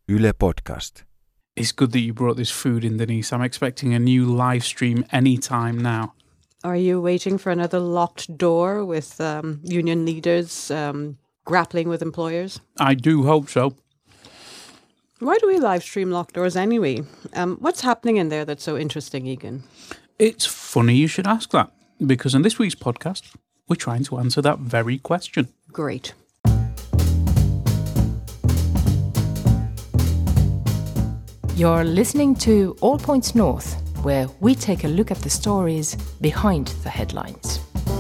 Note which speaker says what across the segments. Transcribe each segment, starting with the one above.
Speaker 1: Yle Podcast.
Speaker 2: It's good that you brought this food in, Denise. I'm expecting a new live stream anytime now.
Speaker 3: Are you waiting for another locked door with union leaders grappling with employers?
Speaker 2: I do hope so.
Speaker 3: Why do we live stream locked doors anyway? What's happening in there that's so interesting, Egan?
Speaker 2: It's funny you should ask that, because in this week's podcast, we're trying to answer that very question.
Speaker 3: Great.
Speaker 4: You're listening to All Points North, where we take a look at the stories behind the headlines.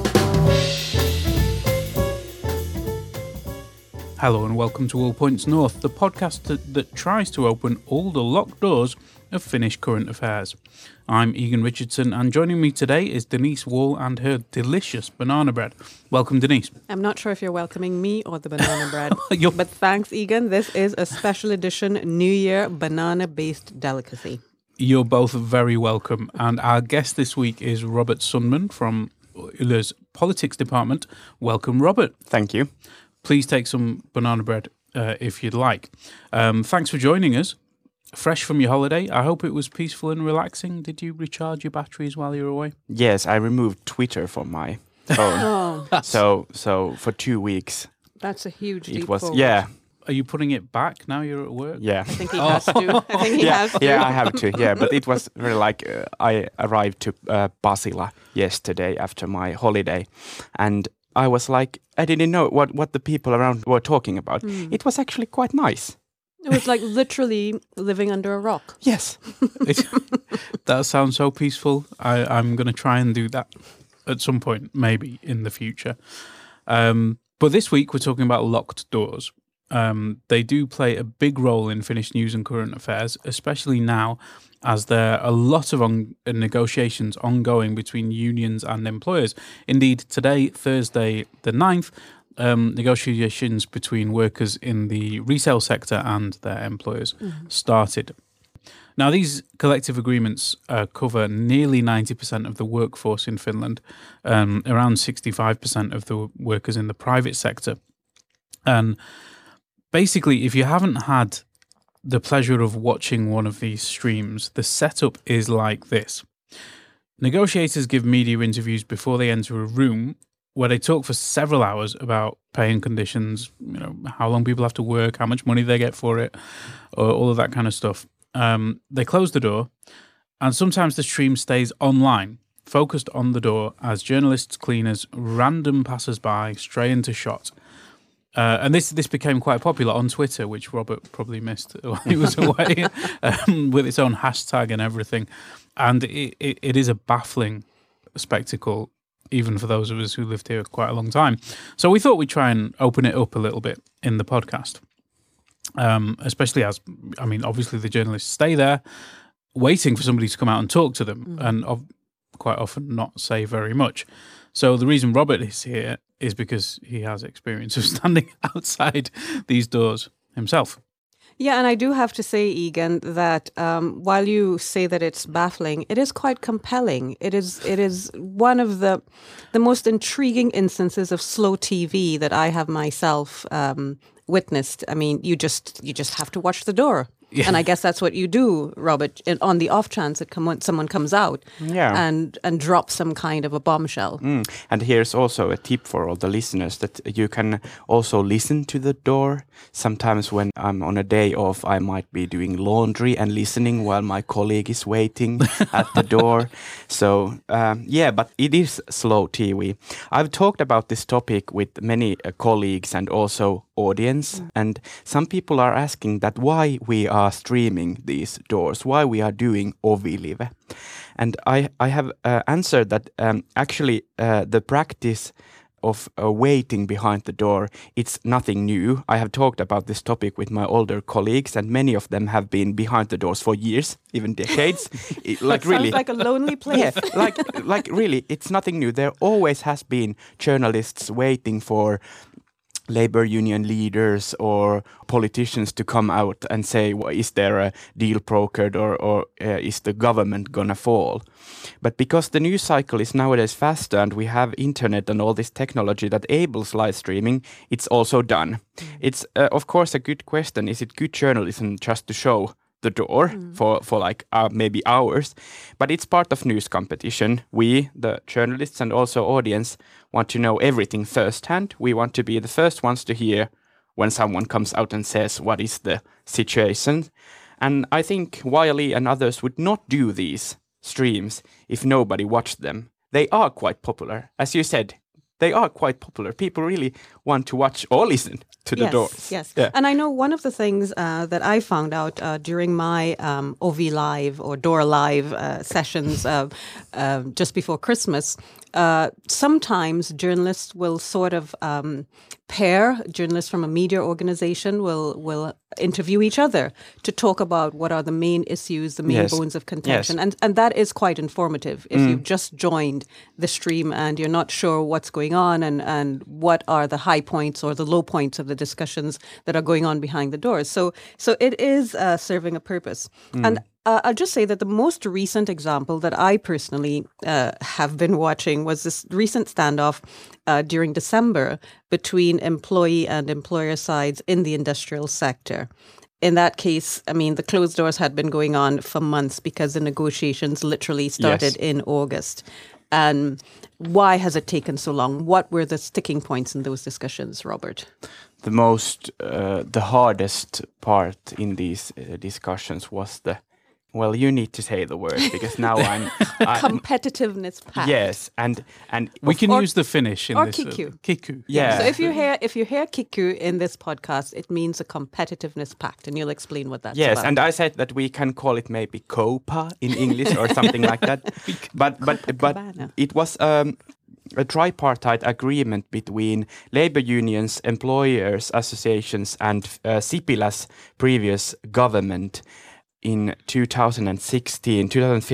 Speaker 2: Hello and welcome to All Points North, the podcast that tries to open all the locked doors of Finnish current affairs. I'm Egan Richardson, and joining me today is Denise Wall and her delicious banana bread. Welcome, Denise.
Speaker 3: I'm not sure if you're welcoming me or the banana bread, but thanks, Egan. This is a special edition New Year banana-based delicacy.
Speaker 2: You're both very welcome, and our guest this week is Robert Sundman from Yle's Politics Department. Welcome, Robert.
Speaker 5: Thank you.
Speaker 2: Please take some banana bread if you'd like. Thanks for joining us. Fresh from your holiday, I hope it was peaceful and relaxing. Did you recharge your batteries while you were away?
Speaker 5: Yes, I removed Twitter from my phone. So for 2 weeks.
Speaker 3: That's a huge leap
Speaker 5: It was
Speaker 3: forward.
Speaker 5: yeah.
Speaker 2: Are you putting it back now you're at work?
Speaker 5: Yeah.
Speaker 3: I think he has to. I think he has to.
Speaker 5: Yeah, I have to. Yeah, but it was really like I arrived to Pasila yesterday after my holiday, and I was like, I didn't know what the people around were talking about. It was actually quite nice.
Speaker 3: It was like literally living under a rock.
Speaker 5: Yes.
Speaker 2: That sounds so peaceful. I'm going to try and do that at some point, maybe in the future. But this week we're talking about locked doors. They do play a big role in Finnish news and current affairs, especially now as there are a lot of negotiations ongoing between unions and employers. Indeed, today, Thursday the 9th, negotiations between workers in the resale sector and their employers started. Now, these collective agreements cover nearly 90% of the workforce in Finland, around 65% of the workers in the private sector. And basically, if you haven't had the pleasure of watching one of these streams, the setup is like this. Negotiators give media interviews before they enter a room where they talk for several hours about pay and conditions, how long people have to work, how much money they get for it, all of that kind of stuff. They close the door, and sometimes the stream stays online, focused on the door as journalists, cleaners, random passers-by stray into shot. And this became quite popular on Twitter, which Robert probably missed while he was away, with its own hashtag and everything. And it is a baffling spectacle, even for those of us who lived here quite a long time. So we thought we'd try and open it up a little bit in the podcast, especially as, obviously the journalists stay there waiting for somebody to come out and talk to them, and quite often not say very much. So the reason Robert is here is because he has experience of standing outside these doors himself.
Speaker 3: Yeah, and I do have to say, Egan, that while you say that it's baffling, it is quite compelling. It is one of the most intriguing instances of slow TV that I have myself witnessed. I mean, you just have to watch the door. Yeah. And I guess that's what you do, Robert, on the off chance that someone comes out and drops some kind of a bombshell.
Speaker 5: And here's also a tip for all the listeners that you can also listen to the door. Sometimes when I'm on a day off, I might be doing laundry and listening while my colleague is waiting at the door. So, but it is slow TV. I've talked about this topic with many colleagues and also audience, and some people are asking that why we are streaming these doors, why we are doing Ovilive. And I have answered that actually the practice of waiting behind the door, it's nothing new. I have talked about this topic with my older colleagues, and many of them have been behind the doors for years, even decades.
Speaker 3: Sounds like a lonely place.
Speaker 5: Yeah, like really, it's nothing new. There always has been journalists waiting for labor union leaders or politicians to come out and say, well, is there a deal brokered or is the government gonna fall? But because the news cycle is nowadays faster and we have internet and all this technology that enables live streaming, it's also done. It's of course a good question. Is it good journalism just to show the door for like maybe hours? But it's part of news competition. We, the journalists and also audience, want to know everything firsthand. We want to be the first ones to hear when someone comes out and says what is the situation. And I think Wiley and others would not do these streams if nobody watched them. They are quite popular. As you said, they are quite popular. People really want to watch or listen to the doors.
Speaker 3: Yes,
Speaker 5: Yeah.
Speaker 3: and I know one of the things that I found out during my OV Live or Door Live sessions just before Christmas, sometimes journalists will sort of pair, journalists from a media organization will interview each other to talk about what are the main issues, the main bones of contention. And that is quite informative if you've just joined the stream and you're not sure what's going on and what are the high points or the low points of the discussions that are going on behind the doors. So it is serving a purpose. And I'll just say that the most recent example that I personally have been watching was this recent standoff during December between employee and employer sides in the industrial sector. In that case, I mean, the closed doors had been going on for months because the negotiations literally started in August. And why has it taken so long? What were the sticking points in those discussions, Robert?
Speaker 5: The hardest part in these discussions was well, you need to say the word because now I'm
Speaker 3: competitiveness pact.
Speaker 5: Yes, and
Speaker 2: we can use the Finnish in
Speaker 3: or
Speaker 2: this.
Speaker 3: Kiku.
Speaker 5: Kiku. Yeah.
Speaker 3: So if you hear Kiku in this podcast, it means a competitiveness pact, and you'll explain what that's about.
Speaker 5: Yes, and I said that we can call it maybe COPA in English or something like that. But it was a tripartite agreement between labor unions, employers associations, and Sipilä's previous government in 2015,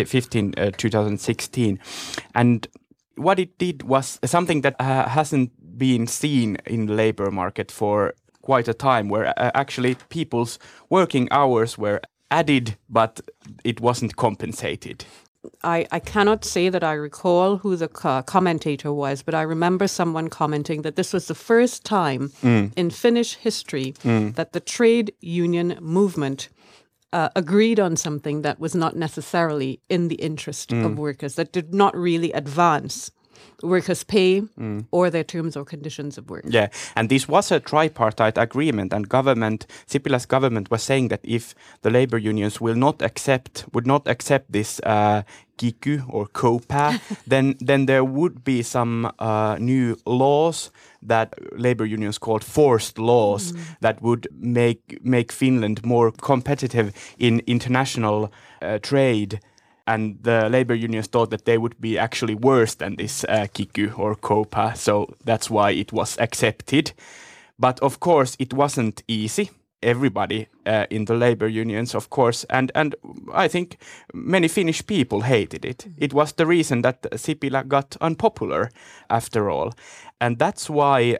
Speaker 5: 2016. And what it did was something that hasn't been seen in the labor market for quite a time, where actually people's working hours were added, but it wasn't compensated.
Speaker 3: I cannot say that I recall who the commentator was, but I remember someone commenting that this was the first time in Finnish history that the trade union movement agreed on something that was not necessarily in the interest of workers, that did not really advance workers' pay or their terms or conditions of work.
Speaker 5: Yeah, and this was a tripartite agreement, and Sipilä's government was saying that if the labor unions would not accept this Kiky or COPA, then there would be some new laws that labor unions called forced laws that would make Finland more competitive in international trade. And the labor unions thought that they would be actually worse than this Kiky or COPA, so that's why it was accepted. But of course, it wasn't easy. Everybody in the labor unions, of course, and I think many Finnish people hated it. It was the reason that Sipilä got unpopular after all. And that's why,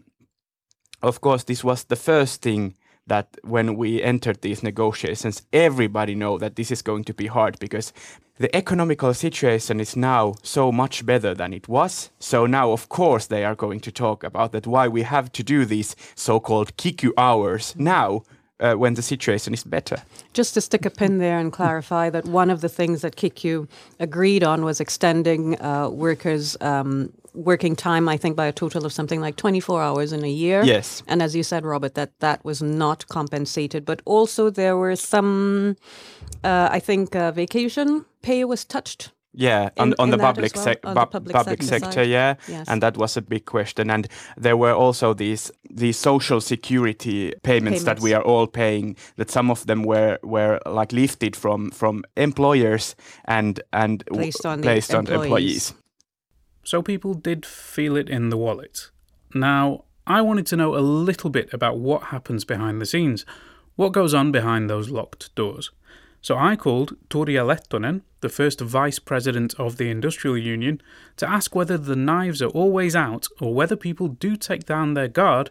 Speaker 5: of course, this was the first thing that when we entered these negotiations, everybody know that this is going to be hard because the economical situation is now so much better than it was. So now, of course, they are going to talk about that why we have to do these so-called Kiky hours now when the situation is better.
Speaker 3: Just to stick a pin there and clarify that one of the things that Kiky agreed on was extending workers' working time, I think, by a total of something like 24 hours in a year.
Speaker 5: Yes.
Speaker 3: And as you said, Robert, that was not compensated. But also there were some, I think, vacation pay was touched.
Speaker 5: Yeah, on the public sector, yeah,
Speaker 3: yes.
Speaker 5: And that was a big question. And there were also these social security payments that we are all paying. That some of them were like lifted from employers and
Speaker 3: placed on
Speaker 5: employees.
Speaker 2: So people did feel it in the wallet. Now, I wanted to know a little bit about what happens behind the scenes. What goes on behind those locked doors? So I called Turja Lehtonen, the first vice president of the Industrial Union, to ask whether the knives are always out or whether people do take down their guard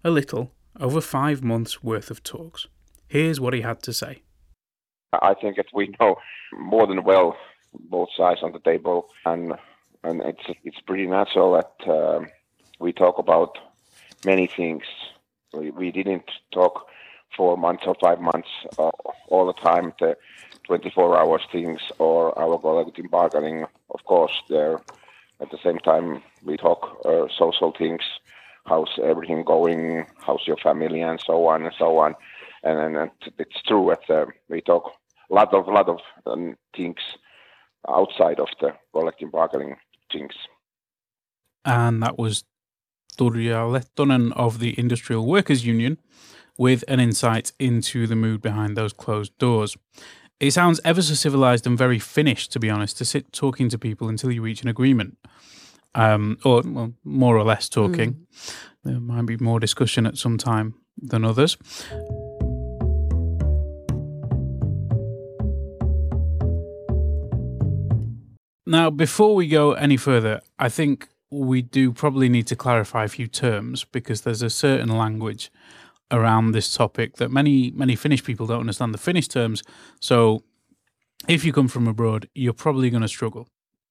Speaker 2: a little, over 5 months' worth of talks. Here's what he had to say.
Speaker 1: I think that we know more than well both sides on the table, and it's pretty natural that we talk about many things. We didn't talk 4 months or 5 months all the time, the 24 hours things or our collective bargaining. Of course, there at the same time we talk social things, how's everything going, how's your family, and so on and so on. And it's true that we talk a lot of things outside of the collective bargaining things.
Speaker 2: And that was Turja Lehtonen of the Industrial Workers Union with an insight into the mood behind those closed doors. It sounds ever so civilized and very Finnish, to be honest, to sit talking to people until you reach an agreement. Or well, more or less talking. There might be more discussion at some time than others. Now, before we go any further, I think we do probably need to clarify a few terms, because there's a certain language around this topic that many Finnish people don't understand the Finnish terms. So if you come from abroad, you're probably going to struggle.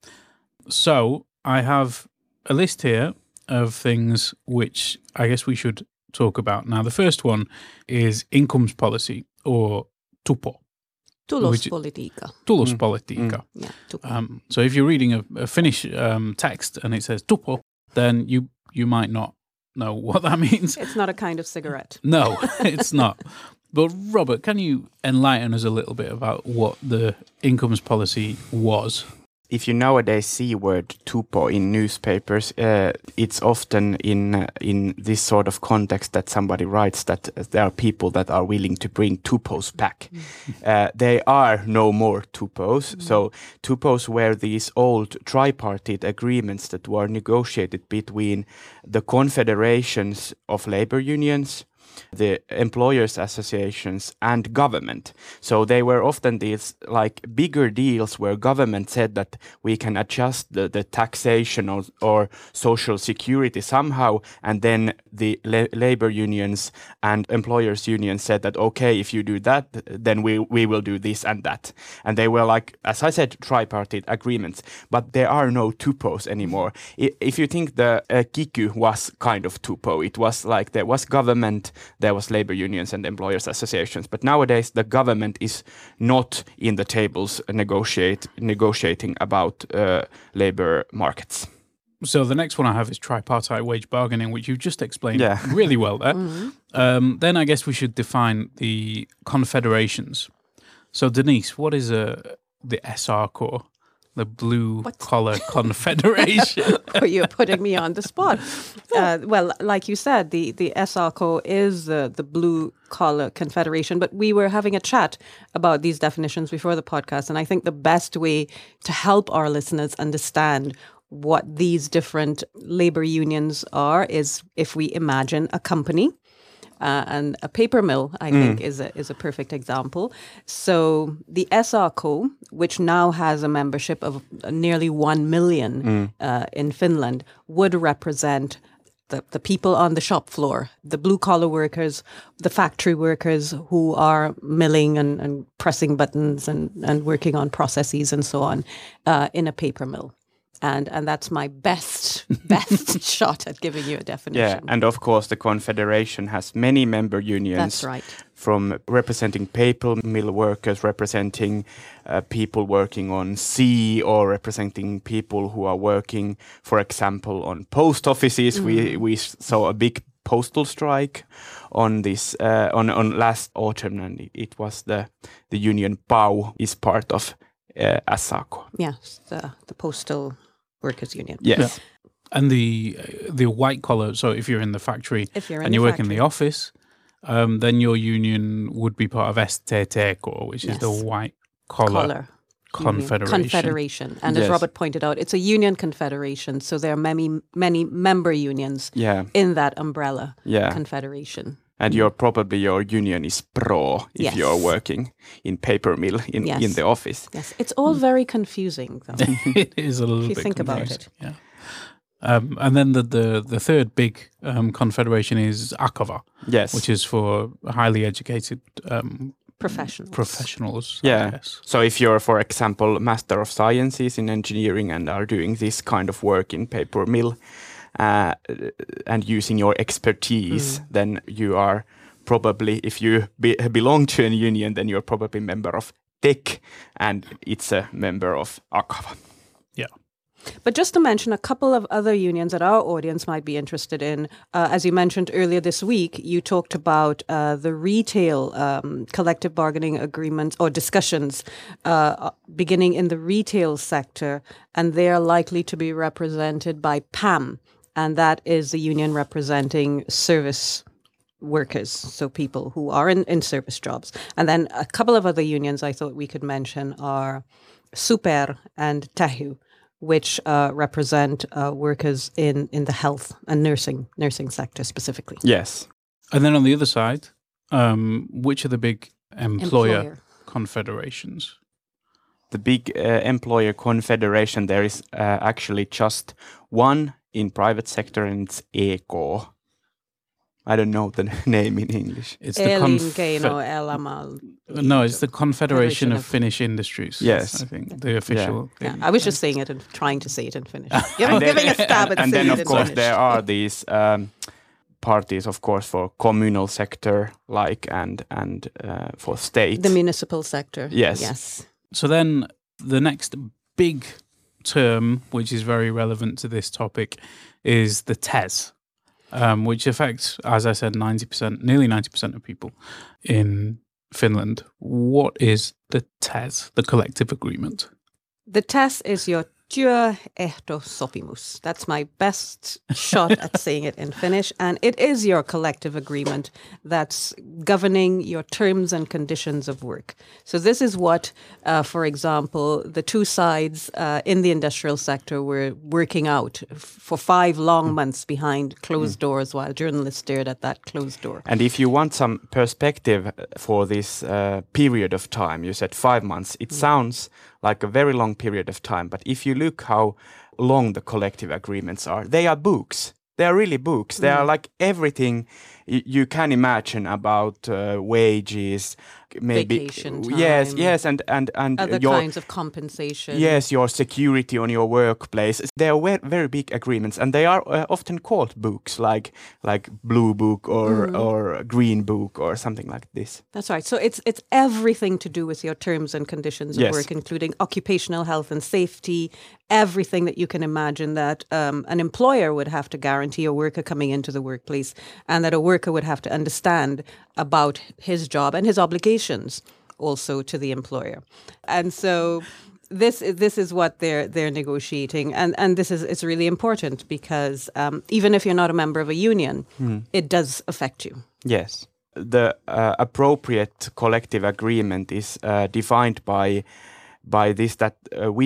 Speaker 2: So I have a list here of things which I guess we should talk about. Now, the first one is incomes policy, or tupo.
Speaker 3: Tulospolitiikka.
Speaker 2: Tulospolitiikka.
Speaker 3: Yeah,
Speaker 2: so if you're reading a Finnish text and it says tupo, then you might not know what that means.
Speaker 3: It's not a kind of cigarette.
Speaker 2: No, it's not. But Robert, can you enlighten us a little bit about what the incomes policy was?
Speaker 5: If you nowadays see word tupo in newspapers, it's often in this sort of context that somebody writes that there are people that are willing to bring tupos back. There are no more tupos. So tupos were these old tripartite agreements that were negotiated between the confederations of labor unions, the employers' associations, and government. So they were often these like bigger deals where government said that we can adjust the taxation or social security somehow, and then the labor unions and employers' unions said that okay, if you do that, then we will do this and that. And they were like, as I said, tripartite agreements, but there are no tupos anymore. If you think the kiky was kind of tupo, it was like there was government, there was labor unions and employers associations, but nowadays the government is not in the tables negotiating about labor markets.
Speaker 2: So the next one I have is tripartite wage bargaining, which you just explained really well there. Then I guess we should define the confederations. So Denise, what is the SR-Corps? The Blue Collar Confederation.
Speaker 3: Oh, you're putting me on the spot. Well, like you said, the SR-Corps is the Blue Collar Confederation, but we were having a chat about these definitions before the podcast, and I think the best way to help our listeners understand what these different labor unions are is if we imagine a company. And a paper mill, I think, is a perfect example. So the SR-Co, which now has a membership of nearly 1 million in Finland, would represent the people on the shop floor, the blue-collar workers, the factory workers who are milling and pressing buttons and working on processes and so on in a paper mill. And that's my best shot at giving you a definition.
Speaker 5: Yeah, and of course the Confederation has many member unions.
Speaker 3: That's right.
Speaker 5: From representing paper mill workers, representing people working on sea, or representing people who are working, for example, on post offices. We saw a big postal strike on this on last autumn, and it was the union PAU is part of SACO.
Speaker 3: Yes, the postal workers union.
Speaker 5: Yes. Yeah.
Speaker 2: And the white collar, so if you're in the factory and you work in the office, then your union would be part of STTK, which is the white collar confederation.
Speaker 3: And as Robert pointed out, it's a union confederation, so there are many member unions in that umbrella confederation.
Speaker 5: And your union is pro if you're working in paper mill in the office.
Speaker 3: Yes, it's all very confusing, though.
Speaker 2: It is a little bit
Speaker 3: if you think
Speaker 2: confusing.
Speaker 3: about it.
Speaker 2: Yeah. And then the third big confederation is Akava,
Speaker 5: Yes.
Speaker 2: which is for highly educated
Speaker 3: Professionals.
Speaker 2: I
Speaker 5: Yeah.
Speaker 2: guess.
Speaker 5: So if you're, for example, Master of Sciences in engineering and are doing this kind of work in paper mill and using your expertise, then you are probably, if you belong to a union, then you're probably a member of TEC, and it's a member of Akava.
Speaker 2: Yeah.
Speaker 3: But just to mention a couple of other unions that our audience might be interested in, as you mentioned earlier this week, you talked about the retail collective bargaining agreements or discussions beginning in the retail sector, and they are likely to be represented by PAM, and that is the union representing service workers, so people who are in service jobs. And then a couple of other unions I thought we could mention are SUPER and TEHU, which represent workers in the health and nursing sector specifically.
Speaker 5: Yes.
Speaker 2: And then on the other side, which are the big employer confederations?
Speaker 5: The big employer confederation, there is actually just one in private sector, and it's EK. I don't know the name in English.
Speaker 2: It's the No, it's the Confederation of Finnish Industries.
Speaker 5: Yes.
Speaker 2: I think the official thing.
Speaker 3: I was just saying it and trying to say it in Finnish. Giving a stab at
Speaker 5: and
Speaker 3: saying
Speaker 5: then,
Speaker 3: it
Speaker 5: of course,
Speaker 3: in
Speaker 5: there
Speaker 3: Finnish.
Speaker 5: are these parties, of course, for communal sector, and for state.
Speaker 3: The municipal sector.
Speaker 5: Yes.
Speaker 2: So then the next big term, which is very relevant to this topic, is the TES, which affects, as I said, nearly 90% of people in Finland. What is the TES, the collective agreement?
Speaker 3: The TES is your työehtosopimus. That's my best shot at saying it in Finnish. And it is your collective agreement that's governing your terms and conditions of work. So this is what, for example, the two sides in the industrial sector were working out for 5 long months behind closed doors while journalists stared at that closed door.
Speaker 5: And if you want some perspective for this period of time, you said 5 months, it sounds like a very long period of time. But if you look how long the collective agreements are, they are books. They are really books. They are like everything you can imagine about wages, maybe
Speaker 3: vacation time,
Speaker 5: yes, and
Speaker 3: other
Speaker 5: your
Speaker 3: kinds of compensation.
Speaker 5: yes, your security on your workplace. They are very big agreements, and they are often called books, like Blue Book or Green Book or something like this.
Speaker 3: That's right. So it's everything to do with your terms and conditions of
Speaker 5: Yes.
Speaker 3: work, including occupational health and safety, everything that you can imagine that an employer would have to guarantee a worker coming into the workplace, and that a worker would have to understand about his job and his obligations also to the employer. And so this is what they're negotiating, and this is it's really important because even if you're not a member of a union, it does affect you.
Speaker 5: Yes. The appropriate collective agreement is defined by this, that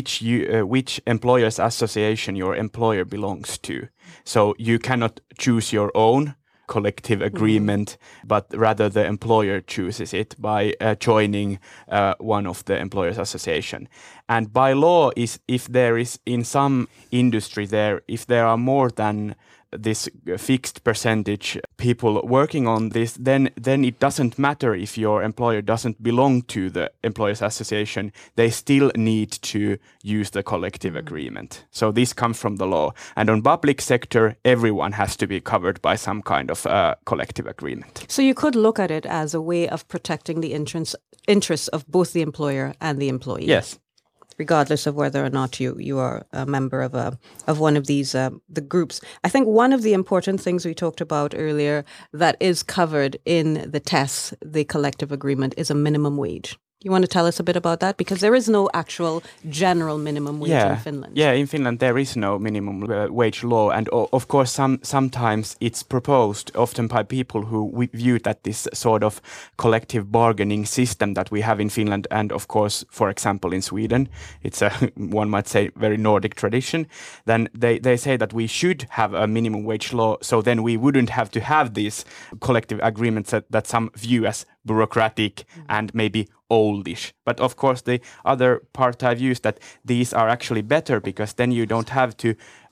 Speaker 5: which employers association your employer belongs to. So you cannot choose your own collective agreement, but rather the employer chooses it by joining one of the employers association. And by law, if there is in some industry if there are more than this fixed percentage people working on this, then it doesn't matter if your employer doesn't belong to the employers association. They still need to use the collective agreement. So this comes from the law. And on public sector, everyone has to be covered by some kind of collective agreement.
Speaker 3: So you could look at it as a way of protecting the interests of both the employer and the employee.
Speaker 5: Yes.
Speaker 3: Regardless of whether or not you are a member of one of these the groups. I think one of the important things we talked about earlier that is covered in the TES, the collective agreement, is a minimum wage. You want to tell us a bit about that? Because there is no actual general minimum wage in Finland.
Speaker 5: Yeah, in Finland there is no minimum wage law, and of course sometimes it's proposed, often by people who view that this sort of collective bargaining system that we have in Finland, and of course, for example, in Sweden, it's a one might say very Nordic tradition. Then they say that we should have a minimum wage law, so then we wouldn't have to have these collective agreements that some view as bureaucratic and maybe oldish. But of course the other part I use that these are actually better, because then you don't have to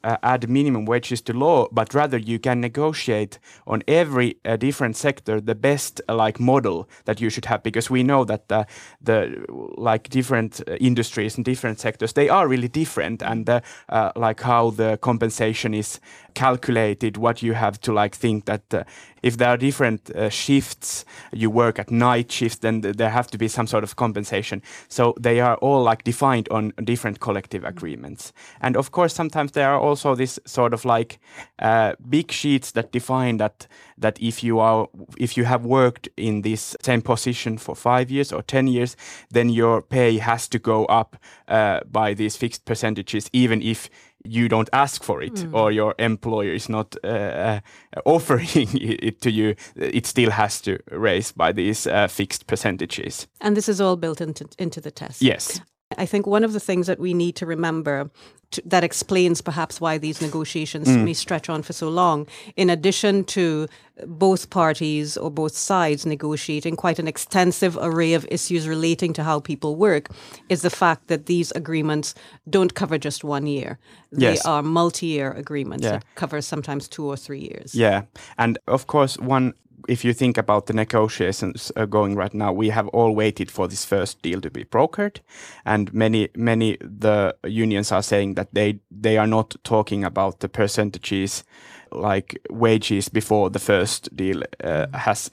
Speaker 5: add minimum wages to law, but rather you can negotiate on every different sector the best like model that you should have, because we know that the like different industries and different sectors, they are really different, and like how the compensation is calculated, what you have to like think that if there are different shifts, you work at night shifts, then there have to be some sort of compensation. So they are all like defined on different collective agreements. And of course, sometimes there are also this sort of like big sheets that define that if you have worked in this same position for 5 years or 10 years, then your pay has to go up by these fixed percentages, even if you don't ask for it or your employer is not offering it to you, it still has to raise by these fixed percentages.
Speaker 3: And this is all built into the test.
Speaker 5: Yes.
Speaker 3: I think one of the things that we need to remember that explains perhaps why these negotiations may stretch on for so long, in addition to both parties or both sides negotiating quite an extensive array of issues relating to how people work, is the fact that these agreements don't cover just 1 year. They are multi-year agreements that cover sometimes 2 or 3 years.
Speaker 5: Yeah. And of course, if you think about the negotiations going right now, we have all waited for this first deal to be brokered, and many the unions are saying that they are not talking about the percentages like wages before the first deal has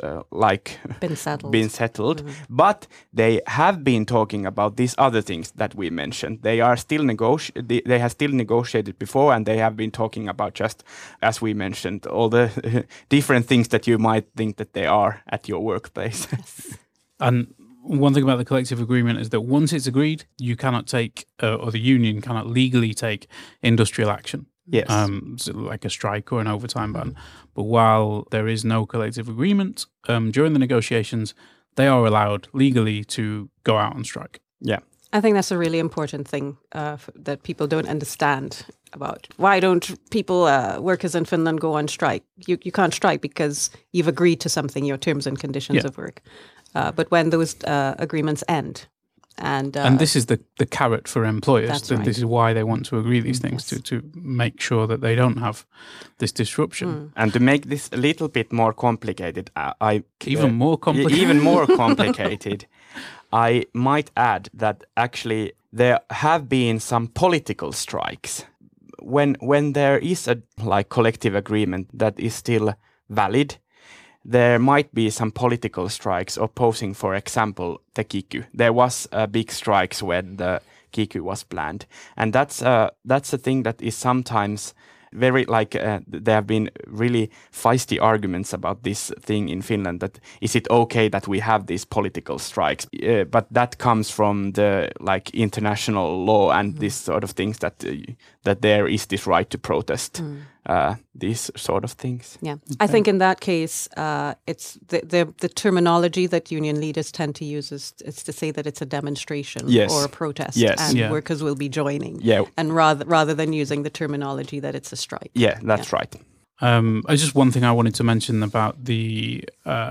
Speaker 5: been settled. But they have been talking about these other things that we mentioned. They are still they have still negotiated before, and they have been talking about, just as we mentioned, all the different things that you might think that they are at your workplace.
Speaker 2: And one thing about the collective agreement is that once it's agreed, you cannot take, or the union cannot legally take industrial action.
Speaker 5: Yes.
Speaker 2: So like a strike or an overtime ban. But while there is no collective agreement, during the negotiations, they are allowed legally to go out on strike.
Speaker 5: Yeah.
Speaker 3: I think that's a really important thing that people don't understand about. Why don't people, workers in Finland, go on strike? You can't strike because you've agreed to something, your terms and conditions of work. But when those agreements end, and
Speaker 2: this is the carrot for employers.
Speaker 3: That's right.
Speaker 2: This is why they want to agree these things, to make sure that they don't have this disruption.
Speaker 5: And to make this a little bit more complicated,
Speaker 2: Even more
Speaker 5: complicated, I might add that actually there have been some political strikes. When there is a collective agreement that is still valid, there might be some political strikes opposing, for example, the KIKY. There was big strikes when the KIKY was planned, and that's a thing that is sometimes very there have been really feisty arguments about this thing in Finland. That is it okay that we have these political strikes? But that comes from the international law and this sort of things that there is this right to protest. These sort of things.
Speaker 3: Yeah, I think in that case, it's the terminology that union leaders tend to use is to say that it's a demonstration or a protest, and workers will be joining.
Speaker 5: Yeah,
Speaker 3: and rather than using the terminology that it's a strike.
Speaker 5: Yeah, that's right.
Speaker 2: Just one thing I wanted to mention about the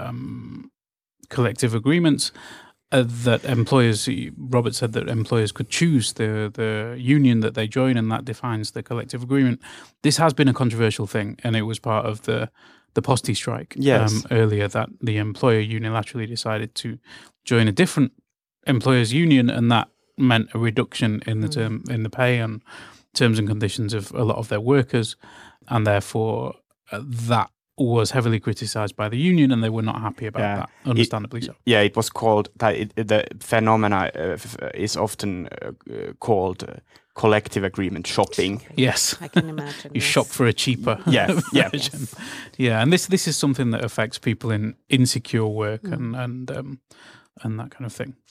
Speaker 2: collective agreements. That employers, Robert said that employers could choose the union that they join, and that defines the collective agreement. This has been a controversial thing, and it was part of the Posti strike earlier, that the employer unilaterally decided to join a different employers union, and that meant a reduction in the pay and terms and conditions of a lot of their workers, and therefore that was heavily criticised by the union, and they were not happy about that, understandably so.
Speaker 5: Yeah, it was called, the phenomena is often called collective agreement shopping.
Speaker 2: Yes.
Speaker 3: I can imagine.
Speaker 2: You shop for a cheaper version.
Speaker 3: Yes.
Speaker 2: Yeah, and this is something that affects people in insecure work and that kind of thing.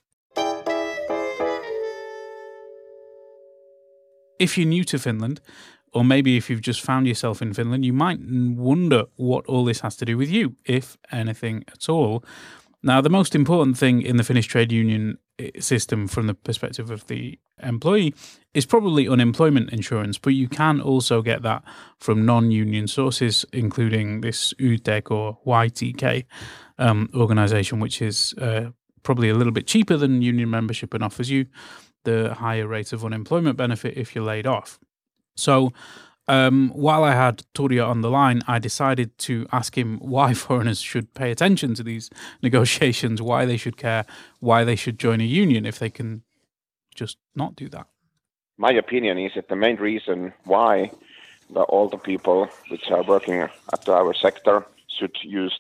Speaker 2: If you're new to Finland, or maybe if you've just found yourself in Finland, you might wonder what all this has to do with you, if anything at all. Now, the most important thing in the Finnish trade union system from the perspective of the employee is probably unemployment insurance, but you can also get that from non-union sources, including this YTK or YTK organisation, which is probably a little bit cheaper than union membership and offers you the higher rate of unemployment benefit if you're laid off. So while I had Turja on the line, I decided to ask him why foreigners should pay attention to these negotiations, why they should care, why they should join a union if they can just not do that.
Speaker 1: My opinion is that the main reason why all the people which are working at our sector should use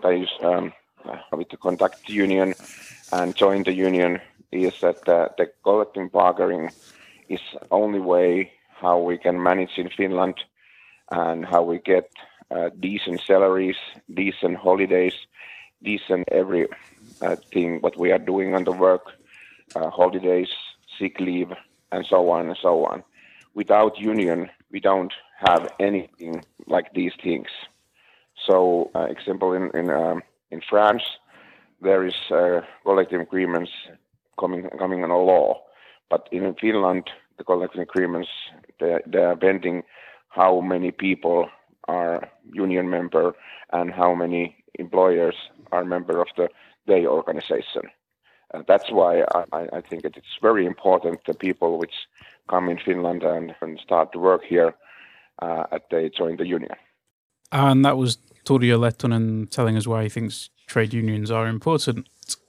Speaker 1: with the contact union and join the union is that the collective bargaining is only way how we can manage in Finland and how we get decent salaries, decent holidays, decent every thing what we are doing on the work, holidays, sick leave, and so on and so on. Without union, we don't have anything like these things. So, example in France, there is collective agreements coming on a law, but in Finland, the collective agreements they are bending how many people are union member and how many employers are member of their organization. That's why I think it's very important the people which come in Finland and start to work here they join the union.
Speaker 2: And that was Turja Lehtonen telling us why he thinks trade unions are important.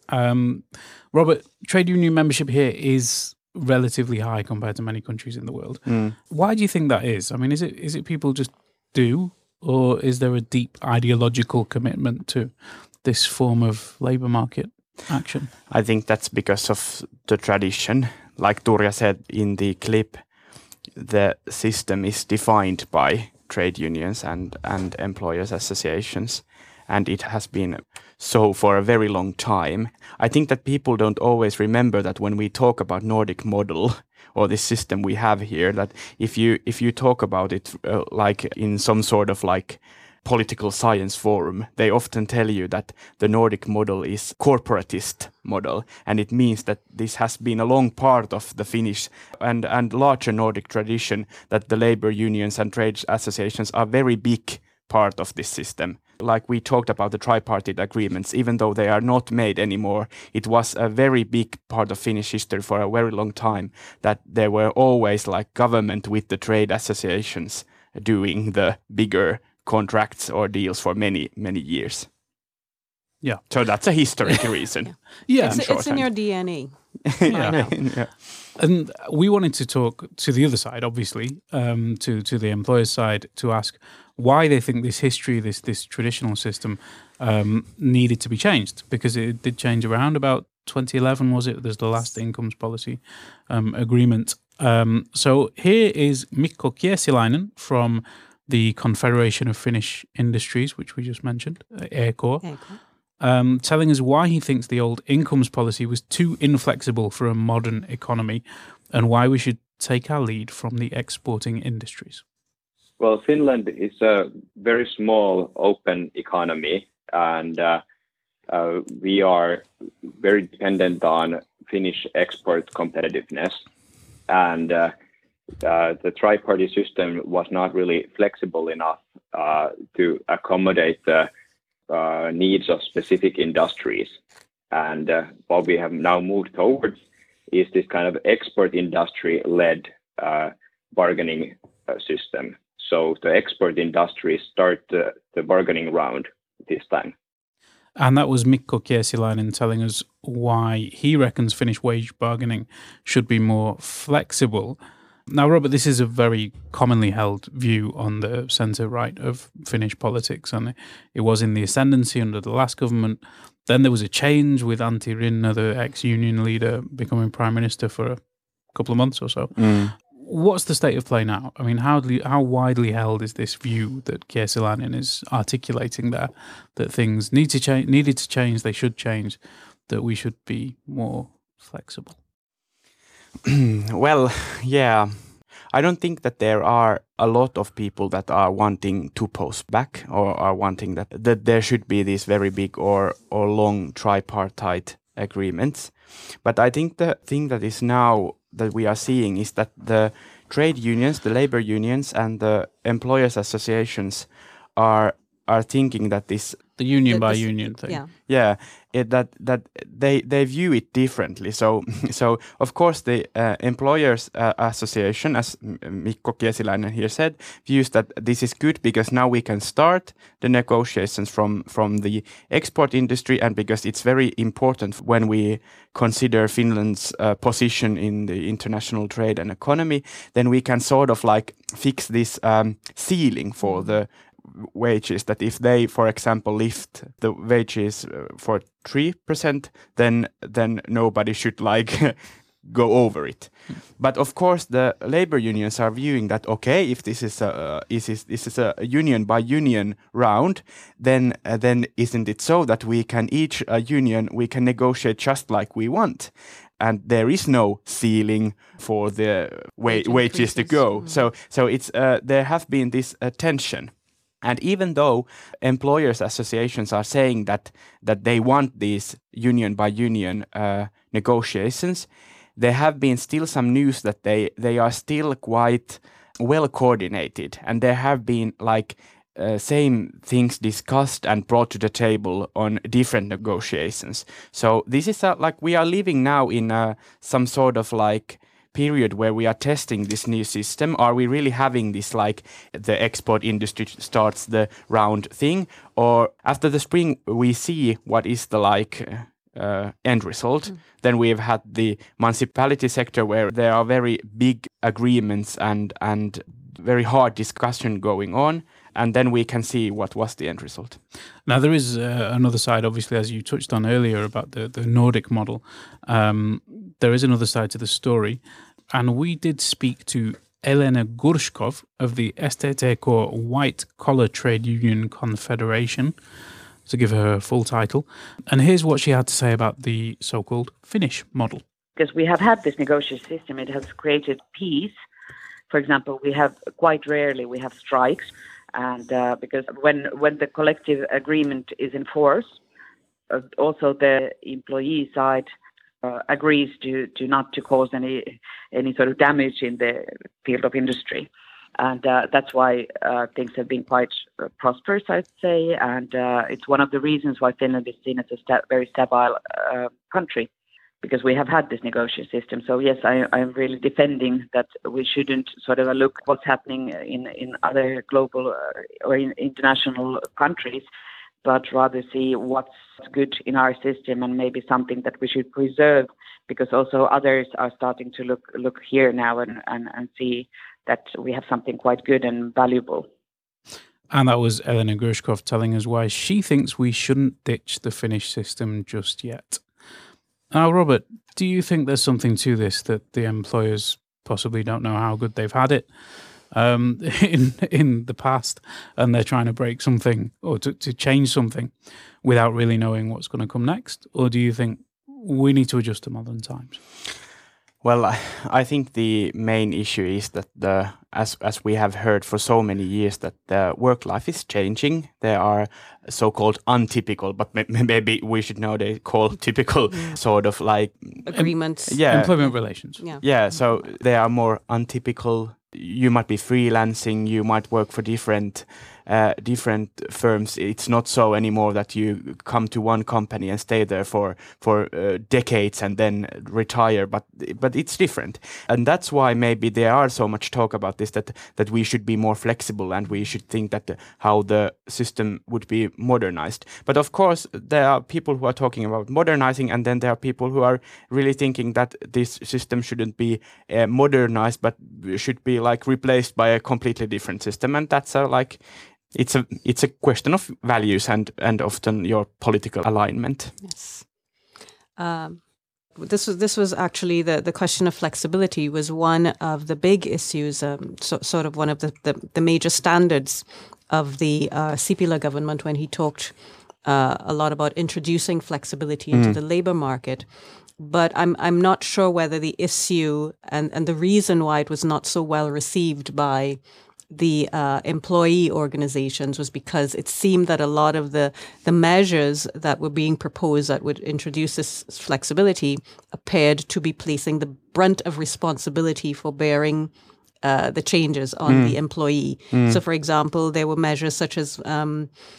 Speaker 2: Robert, trade union membership here is relatively high compared to many countries in the world. Why do you think that is? I mean, is it people just do, or is there a deep ideological commitment to this form of labour market action?
Speaker 5: I think that's because of the tradition. Like Turja said in the clip, the system is defined by trade unions and employers associations, and it has been so for a very long time. I think that people don't always remember that when we talk about Nordic model or this system we have here, that if you talk about it like in some sort of like political science forum, they often tell you that the Nordic model is corporatist model, and it means that this has been a long part of the Finnish and larger Nordic tradition, that the labor unions and trade associations are very big part of this system. Like we talked about the tripartite agreements, even though they are not made anymore, it was a very big part of Finnish history for a very long time, that there were always like government with the trade associations doing the bigger contracts or deals for many years.
Speaker 2: Yeah.
Speaker 5: So that's a historic reason.
Speaker 2: Yeah.
Speaker 3: It's in your DNA.
Speaker 5: Yeah.
Speaker 2: And we wanted to talk to the other side, obviously, to the employer's side, to ask why they think this history, this traditional system, needed to be changed, because it did change around about 2011, was it? There's the last incomes policy agreement. So here is Mikko Kiesiläinen from the Confederation of Finnish Industries, which we just mentioned, EK, telling us why he thinks the old incomes policy was too inflexible for a modern economy and why we should take our lead from the exporting industries.
Speaker 6: Well, Finland is a very small, open economy, and we are very dependent on Finnish export competitiveness. And the tri-party system was not really flexible enough to accommodate the needs of specific industries. And what we have now moved towards is this kind of export industry-led bargaining system. So the export industries start the bargaining round this time.
Speaker 2: And that was Mikko Kiesiläinen telling us why he reckons Finnish wage bargaining should be more flexible. Now, Robert, this is a very commonly held view on the centre-right of Finnish politics, and it was in the ascendancy under the last government. Then there was a change with Antti Rinne, the ex-union leader, becoming prime minister for a couple of months or so. What's the state of play now? I mean, how widely held is this view that Kiesiläinen is articulating there, that things needed to change, they should change, that we should be more flexible?
Speaker 5: Well, yeah. I don't think that there are a lot of people that are wanting to post back or are wanting that there should be these very big or long tripartite agreements. But I think the thing that is now that we are seeing is that the trade unions, the labor unions and the employers associations are thinking that this
Speaker 2: The union by
Speaker 3: this-
Speaker 2: union thing.
Speaker 3: Yeah.
Speaker 5: Yeah, that they view it differently. So of course the employers association, as Mikko Kiesiläinen here said, views that this is good because now we can start the negotiations from the export industry, and because it's very important when we consider Finland's position in the international trade and economy, then we can sort of like fix this ceiling for the wages, that if they, for example, lift the wages for 3%, then nobody should like go over it. But of course, the labor unions are viewing that, okay, if this is a union by union round, then isn't it so that we can each union we can negotiate just like we want, and there is no ceiling for the wages to go. So it's there have been this tension. And even though employers' associations are saying that they want these union by union negotiations, there have been still some news that they are still quite well coordinated, and there have been like same things discussed and brought to the table on different negotiations. So this is like we are living now in some sort of like period where we are testing this new system. Are we really having this like the export industry starts the round thing, or after the spring we see what is the like end result? Then we've had the municipality sector where there are very big agreements and very hard discussion going on, and then we can see what was the end result.
Speaker 2: Now, there is another side, obviously, as you touched on earlier about the Nordic model. There is another side to the story. And we did speak to Elena Gurshkov of the STTK White Collar Trade Union Confederation, to give her full title. And here's what she had to say about the so-called Finnish model.
Speaker 7: Because we have had this negotiation system, it has created peace. For example, quite rarely we have strikes. And because when the collective agreement is in force, also the employee side agrees to not to cause any sort of damage in the field of industry. And that's why things have been quite prosperous, I'd say. And it's one of the reasons why Finland is seen as a very stable country, because we have had this negotiation system. So yes, I'm really defending that we shouldn't sort of look what's happening in other global or in international countries, but rather see what's good in our system and maybe something that we should preserve, because also others are starting to look here now and see that we have something quite good and valuable.
Speaker 2: And that was Elena Gurshkov telling us why she thinks we shouldn't ditch the Finnish system just yet. Now, Robert, do you think there's something to this, that the employers possibly don't know how good they've had it in the past, and they're trying to break something or to change something without really knowing what's going to come next? Or do you think we need to adjust to modern times?
Speaker 5: Well, I think the main issue is that as we have heard for so many years, that the work life is changing. There are so-called untypical, but maybe we should nowadays call typical sort of like
Speaker 3: agreements.
Speaker 2: Employment relations.
Speaker 5: Yeah. So they are more untypical. You might be freelancing. You might work for different firms. It's not so anymore that you come to one company and stay there for decades and then retire, but it's different. And that's why maybe there are so much talk about this, that we should be more flexible and we should think that how the system would be modernized. But of course there are people who are talking about modernizing, and then there are people who are really thinking that this system shouldn't be modernized but should be like replaced by a completely different system. And that's it's a question of values and often your political alignment.
Speaker 3: Yes. This was actually the question of flexibility was one of the big issues, sort of one of the major standards of the Sipilä government when he talked a lot about introducing flexibility into the labor market. But I'm not sure whether the issue and the reason why it was not so well received by the employee organizations was because it seemed that a lot of the measures that were being proposed that would introduce this flexibility appeared to be placing the brunt of responsibility for bearing the changes on the employee. So, for example, there were measures such as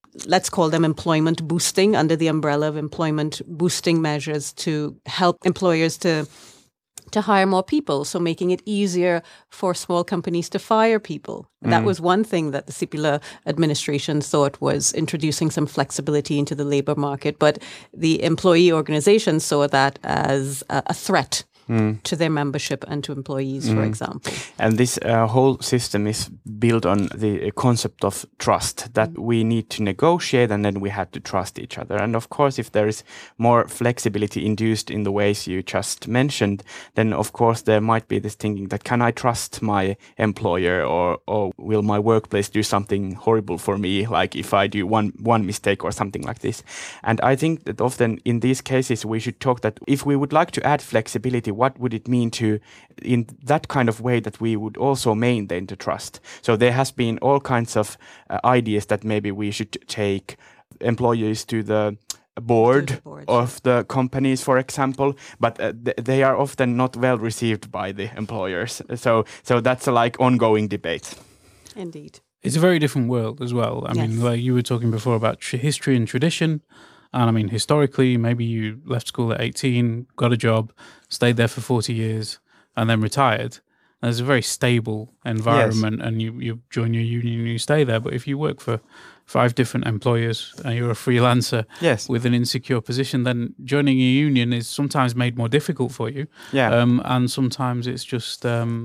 Speaker 3: let's call them employment boosting, under the umbrella of employment boosting measures to help employers to hire more people, so making it easier for small companies to fire people. That was one thing that the Sipilä administration thought was introducing some flexibility into the labor market, but the employee organizations saw that as a threat to their membership and to employees, for example.
Speaker 5: And this whole system is built on the concept of trust, that we need to negotiate and then we have to trust each other. And of course, if there is more flexibility induced in the ways you just mentioned, then of course there might be this thinking that can I trust my employer, or will my workplace do something horrible for me, like if I do one mistake or something like this. And I think that often in these cases we should talk that if we would like to add flexibility, what would it mean to, in that kind of way, that we would also maintain the trust? So there has been all kinds of ideas that maybe we should take employees to the board of the companies, for example, but they are often not well received by the employers. So that's a like ongoing debate.
Speaker 3: Indeed.
Speaker 2: It's a very different world as well. I mean, like you were talking before about history and tradition. And I mean, historically, maybe you left school at 18, got a job, stayed there for 40 years, and then retired. There's a very stable environment, and you join your union and you stay there. But if you work for 5 different employers and you're a freelancer with an insecure position, then joining a union is sometimes made more difficult for you. And sometimes it's just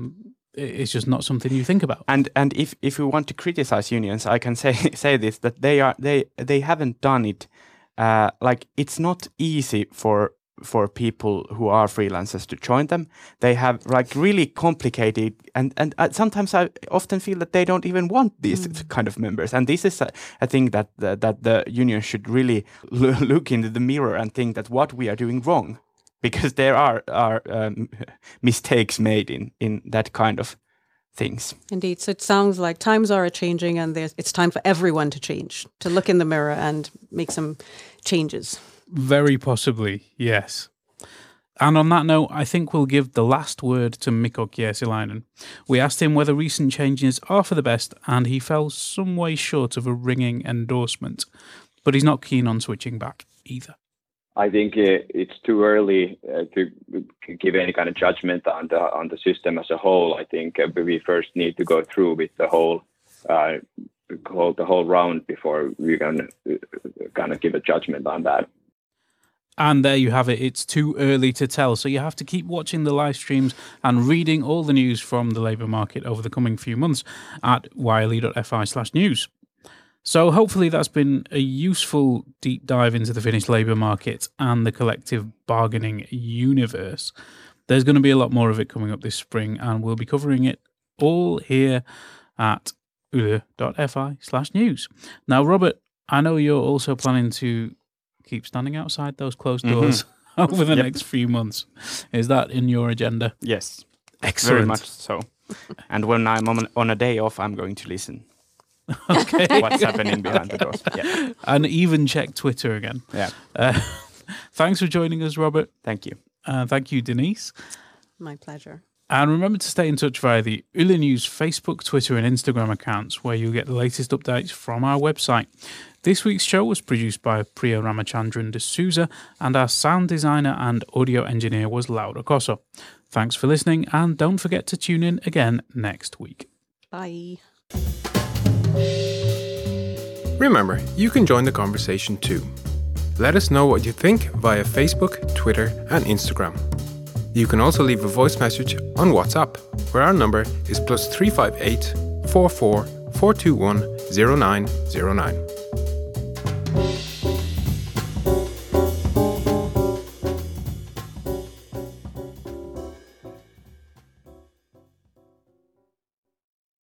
Speaker 2: not something you think about.
Speaker 5: And if we want to criticize unions, I can say this, that they haven't done it. Like it's not easy for people who are freelancers to join them. They have like really complicated, and sometimes I often feel that they don't even want these kind of members. And this is a thing that the union should really look into the mirror and think that what we are doing wrong, because there are mistakes made in that kind of things.
Speaker 3: Indeed. So it sounds like times are changing, and it's time for everyone to change, to look in the mirror and make some changes.
Speaker 2: Very possibly, yes. And on that note, I think we'll give the last word to Mikko Kiesiläinen. We asked him whether recent changes are for the best, and he fell some way short of a ringing endorsement. But he's not keen on switching back either.
Speaker 6: I think it's too early to give any kind of judgment on the system as a whole. I think we first need to go through with the whole round before we can kind of give a judgment on that.
Speaker 2: And there you have it. It's too early to tell. So you have to keep watching the live streams and reading all the news from the labour market over the coming few months at yle.fi/news. So hopefully that's been a useful deep dive into the Finnish labour market and the collective bargaining universe. There's going to be a lot more of it coming up this spring, and we'll be covering it all here at yle.fi/news. Now, Robert, I know you're also planning to keep standing outside those closed doors over the next few months. Is that in your agenda?
Speaker 5: Yes.
Speaker 2: Excellent.
Speaker 5: Very much so. And when I'm on a day off, I'm going to listen.
Speaker 2: Okay.
Speaker 5: What's happening behind the doors. Yeah.
Speaker 2: And even check Twitter again.
Speaker 5: Yeah.
Speaker 2: Thanks for joining us, Robert.
Speaker 5: Thank you.
Speaker 2: Thank you, Denise.
Speaker 3: My pleasure.
Speaker 2: And remember to stay in touch via the Yle News Facebook, Twitter and Instagram accounts, where you'll get the latest updates from our website. This week's show was produced by Priya Ramachandran D'Souza, and our sound designer and audio engineer was Laura Cosso. Thanks for listening, and don't forget to tune in again next week.
Speaker 3: Bye.
Speaker 8: Remember, you can join the conversation too. Let us know what you think via Facebook, Twitter and Instagram. You can also leave a voice message on WhatsApp, where our number is +358 44 421 0909.